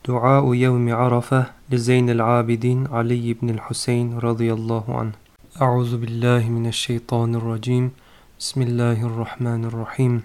دعاء يوم عرفة لزين العابدين علي بن الحسين رضي الله عنه. أعوذ بالله من الشيطان الرجيم. بسم الله الرحمن الرحيم.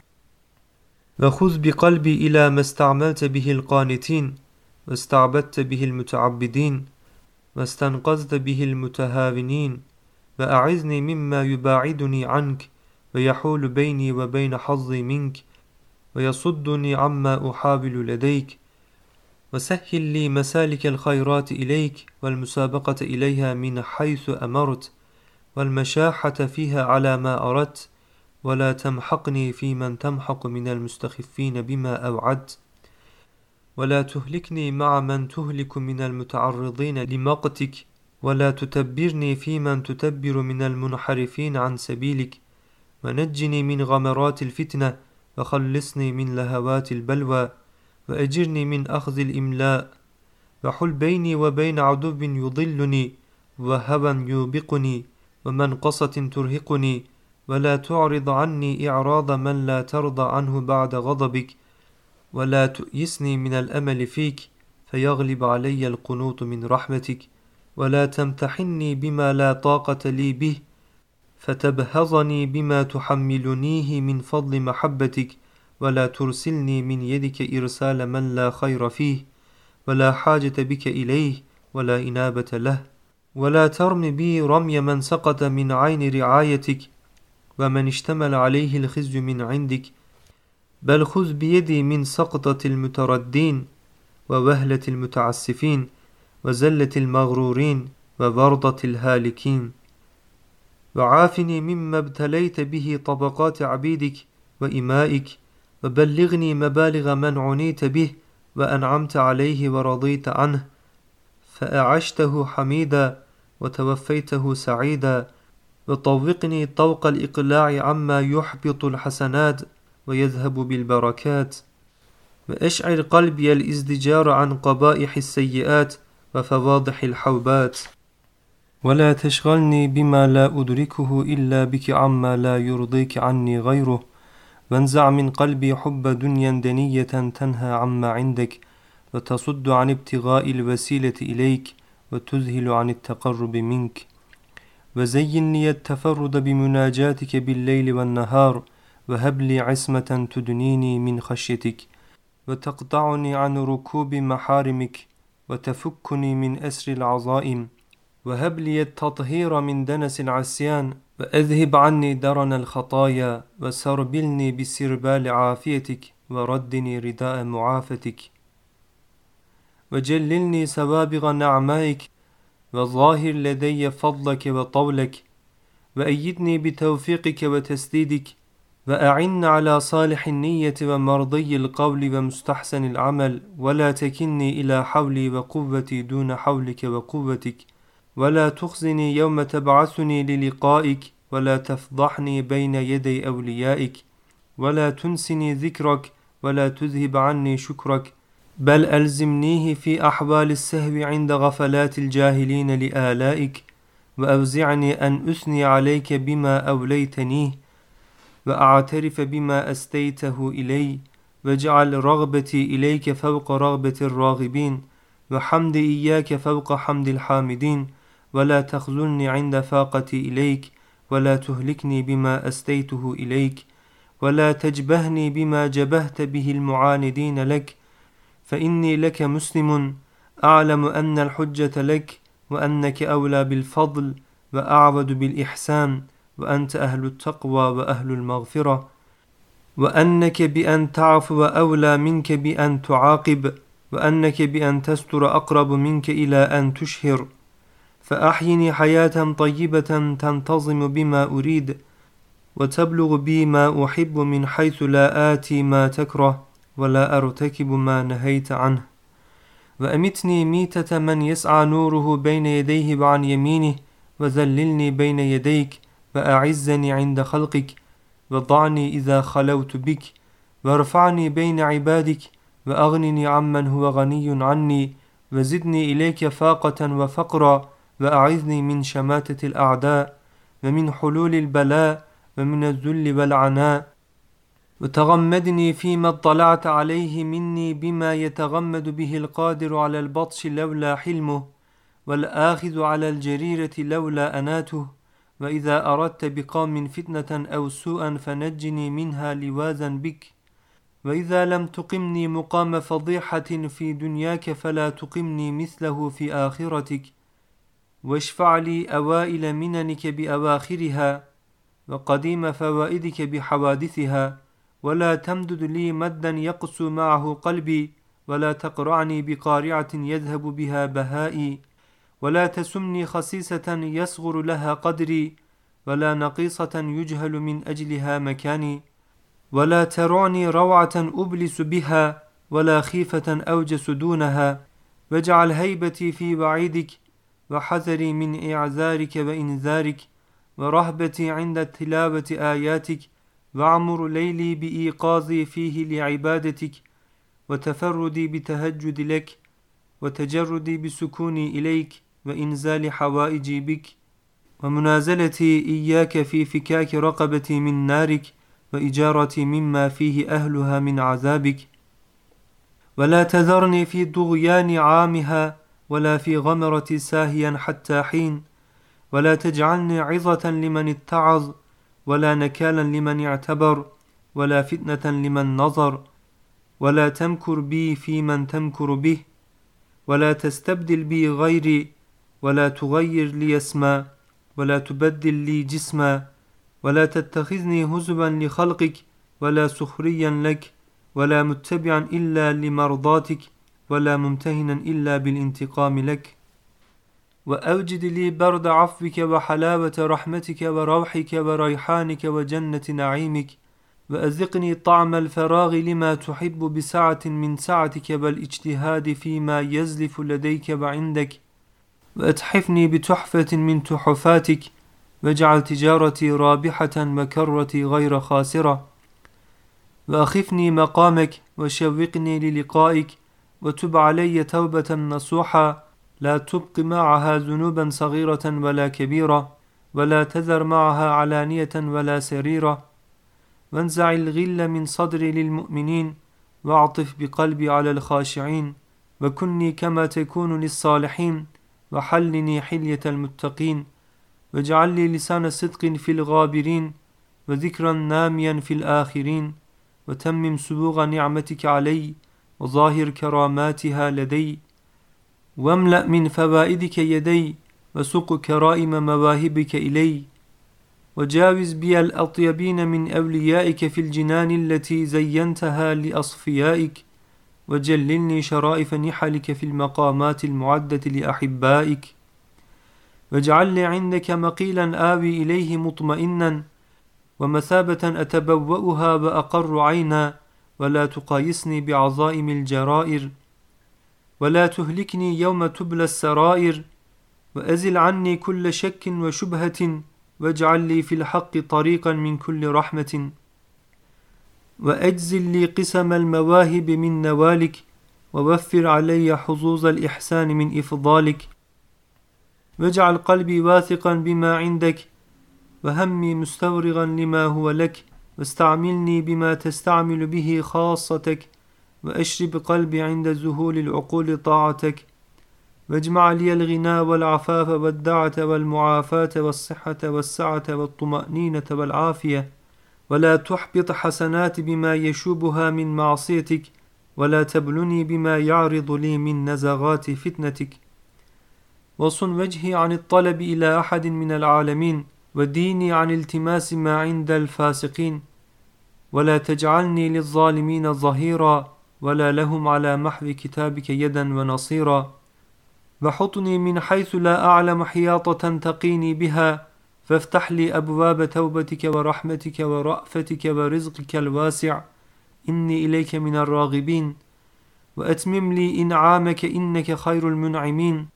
وخذ بقلبي إلى ما استعملت به القانتين، واستعبدت به المتعبدين، واستنقذت به المتهاونين، وأعذني مما يباعدني عنك ويحول بيني وبين حظي منك ويصدني عما أحاول لديك، وسهل لي مسالك الخيرات إليك والمسابقة إليها من حيث أمرت والمشاحة فيها على ما أردت، ولا تمحقني في من تمحق من المستخفين بما أوعدت، ولا تهلكني مع من تهلك من المتعرضين لمقتك، ولا تتبرني في من تتبر من المنحرفين عن سبيلك، ونجني من غمرات الفتنة وخلصني من لهوات البلوى، وأجرني من أخذ الإملاء، وحل بيني وبين عدو يضلني وهوى يوبقني ومنقصة ترهقني، ولا تعرض عني إعراض من لا ترضى عنه بعد غضبك، ولا تؤيسني من الأمل فيك فيغلب علي القنوط من رحمتك، ولا تمتحني بما لا طاقة لي به فتبهضني بما تحملنيه من فضل محبتك، ولا ترسلني من يدك إرسال من لا خير فيه ولا حاجة بك إليه ولا إنابة له، ولا ترم بي رمي من سقط من عين رعايتك ومن اشتمل عليه الخزي من عندك، بل خذ بيدي من سقطة المتردين ووهلة المتعسفين وزلة المغرورين وورطة الهالكين، وعافني مما ابتليت به طبقات عبيدك وإمائك، وبلغني مبالغ من عنيت به وأنعمت عليه ورضيت عنه، فأعشته حميدا وتوفيته سعيدا، وطوقني طوق الإقلاع عما يحبط الحسنات ويذهب بالبركات، وأشعر قلبي الازدجار عن قبائح السيئات وفواضح الحوبات، ولا تشغلني بما لا أدركه إلا بك عما لا يرضيك عني غيره، وانزع من قلبي حب دنيا دنية تنهى عما عندك وتصد عن ابتغاء الوسيلة إليك وتذهل عن التقرب منك، وزين لي التفرد بمناجاتك بالليل والنهار، وهب لي عصمة تدنيني من خشيتك وتقطعني عن ركوب محارمك وتفكني من أسر العظائم، وهب لي التطهير من دنس العصيان، وأذهب عني درن الخطايا، وسربلني بسربال عافيتك وردني رداء معافتك، وجللني سوابغ نعمائك وظاهر لدي فضلك وطولك، وأيدني بتوفيقك وتسديدك، وأعن على صالح النية ومرضي القول ومستحسن العمل، ولا تكلني إلى حولي وقوتي دون حولك وقوتك، ولا تخزني يوم تبعثني للقائك، ولا تفضحني بين يدي أوليائك، ولا تنسني ذكرك ولا تذهب عني شكرك، بل ألزمنيه في أحوال السهو عند غفلات الجاهلين لآلائك، وأوزعني أن أثني عليك بما أوليتنيه، وأعترف بما أستيته إلي، واجعل رغبتي إليك فوق رغبة الراغبين، وحمد إياك فوق حمد الحامدين، ولا تخذلني عند فاقتي إليك، ولا تهلكني بما أستيته إليك، ولا تجبهني بما جبهت به المعاندين لك، فإني لك مسلم أعلم أن الحجة لك، وأنك أولى بالفضل وأعود بالإحسان، وأنت أهل التقوى وأهل المغفرة، وأنك بأن تعفو أولى منك بأن تعاقب، وأنك بأن تستر أقرب منك إلى أن تشهر، فأحيني حياة طيبة تنتظم بما أريد وتبلغ بي ما أحب من حيث لا آتي ما تكره ولا أرتكب ما نهيت عنه، وأمتني ميتة من يسعى نوره بين يديه وعن يمينه، وذللني بين يديك، وأعزني عند خلقك، وضعني إذا خلوت بك، وارفعني بين عبادك، وأغنني عمن هو غني عني، وزدني إليك فاقة وفقرا، وأعذني من شماتة الأعداء ومن حلول البلاء ومن الذل والعناء، وتغمدني فيما اطلعت عليه مني بما يتغمد به القادر على البطش لولا حلمه، والآخذ على الجريرة لولا أناته. وإذا أردت بقوم فتنة أو سوءا فنجني منها لوازا بك. وإذا لم تقمني مقام فضيحة في دنياك فلا تقمني مثله في آخرتك. واشفع لي أوائل مننك بأواخرها، وقديم فوائدك بحوادثها، ولا تمدد لي مدا يقسو معه قلبي، ولا تقرعني بقارعة يذهب بها بهائي، ولا تسمني خسيسة يصغر لها قدري، ولا نقيصة يجهل من أجلها مكاني، ولا ترعني روعة أبلس بها، ولا خيفة أوجس دونها. واجعل هيبتي في وعيدك، وحذري من إعذارك وإنذارك، ورهبتي عند تلاوة آياتك، وعمر ليلي بإيقاظي فيه لعبادتك، وتفردي بتهجد لك، وتجردي بسكوني إليك، وإنزال حوائجي بك، ومنازلتي إياك في فكاك رقبتي من نارك، وإجارتي مما فيه أهلها من عذابك. ولا تذرني في طغيان عامها، ولا في غمرة ساهيا حتى حين، ولا تجعلني عظة لمن اتعظ، ولا نكالا لمن اعتبر، ولا فتنة لمن نظر، ولا تمكر بي في من تمكر به، ولا تستبدل بي غيري، ولا تغير لي اسما، ولا تبدل لي جسما، ولا تتخذني هزوا لخلقك، ولا سخريا لك، ولا متبعا إلا لمرضاتك، ولا ممتهنا إلا بالانتقام لك. وأوجد لي برد عفوك وحلاوة رحمتك وروحك وريحانك وجنة نعيمك، وأذقني طعم الفراغ لما تحب بسعة من سعتك والاجتهاد فيما يزلف لديك وعندك، وأتحفني بتحفة من تحفاتك، واجعل تجارتي رابحة وكرتي غير خاسرة، وأخفني مقامك وشوقني للقائك، وتب علي توبة نصوحا لا تبق معها ذنوبا صغيرة ولا كبيرة، ولا تذر معها علانية ولا سريرة، وانزع الغل من صدري للمؤمنين، واعطف بقلبي على الخاشعين، وكني كما تكون للصالحين، وحلني حلية المتقين، واجعل لي لسان صدق في الغابرين، وذكرا ناميا في الآخرين، وتمم سبوغ نعمتك علي، وظاهر كراماتها لدي، واملأ من فوائدك يدي، وسق كرائم مواهبك إلي، وجاوز بي الأطيبين من أوليائك في الجنان التي زينتها لأصفيائك، وجللني شرائف نحلك في المقامات المعدة لأحبائك، واجعل لي عندك مقيلا آوي إليه مطمئنا، ومثابة أتبوأها وأقر عينا، ولا تقايسني بعظائم الجرائر، ولا تهلكني يوم تبلى السرائر، وأزل عني كل شك وشبهة، واجعل لي في الحق طريقا من كل رحمة، وأجزل لي قسم المواهب من نوالك، ووفر علي حظوظ الإحسان من إفضالك، واجعل قلبي واثقا بما عندك، وهمي مستورغا لما هو لك، واستعملني بما تستعمل به خاصتك، وأشرب قلبي عند ذهول العقول طاعتك، واجمع لي الغنى والعفاف والدعة والمعافاة والصحة والسعة والطمأنينة والعافية، ولا تحبط حسنات بما يشوبها من معصيتك، ولا تبلني بما يعرض لي من نزغات فتنتك، وصن وجهي عن الطلب إلى أحد من العالمين، وديني عن التماس ما عند الفاسقين، ولا تجعلني للظالمين ظهيرا، ولا لهم على محو كتابك يدا ونصيرا، وحطني من حيث لا أعلم حياطة تقيني بها، فافتح لي أبواب توبتك ورحمتك ورأفتك ورزقك الواسع، إني إليك من الراغبين، وأتمم لي إنعامك إنك خير المنعمين،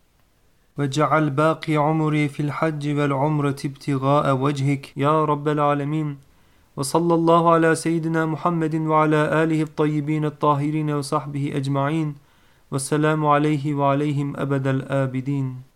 واجعل باقي عمري في الحج والعمرة ابتغاء وجهك يا رب العالمين. وصلى الله على سيدنا محمد وعلى آله الطيبين الطاهرين وصحبه أجمعين، والسلام عليه وعليهم أبد الآبدين.